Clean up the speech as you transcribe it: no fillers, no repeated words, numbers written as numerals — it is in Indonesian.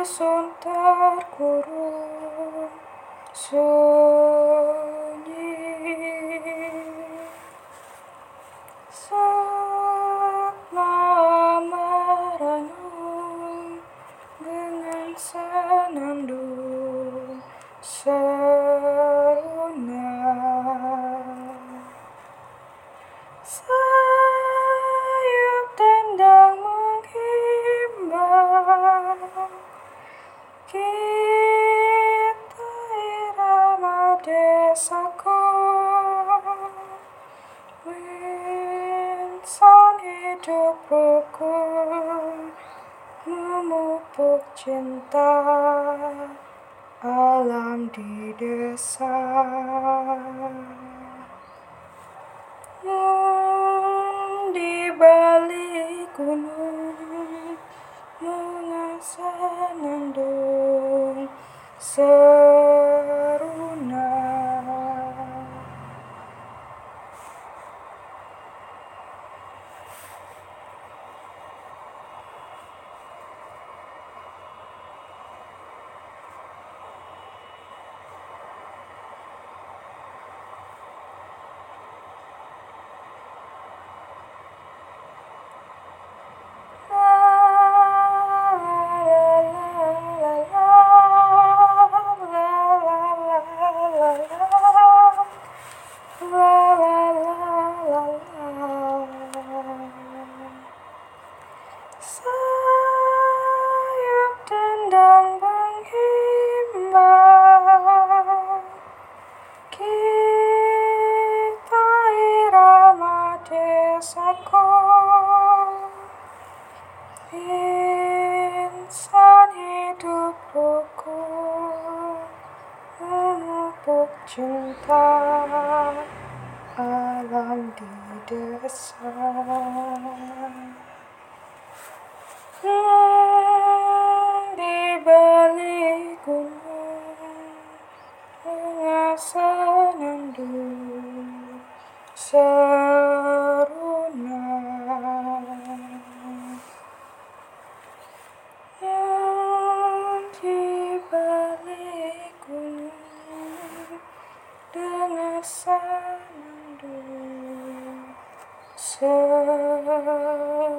sun terkurung sunyi, saat malam merenung dengan senandung seruna. Sayup tendang menghimbau kita irama desaku, insan hidup rukun memupuk cinta alam di desa. Di balik gunung mengasanandung seruna. Sayup tendang menghimbau kita irama desaku, insan hidup rukun memupuk cinta alam di desa. Di balik gunung mengasanandung seruna. Di balik gunung dengan senandung seruna.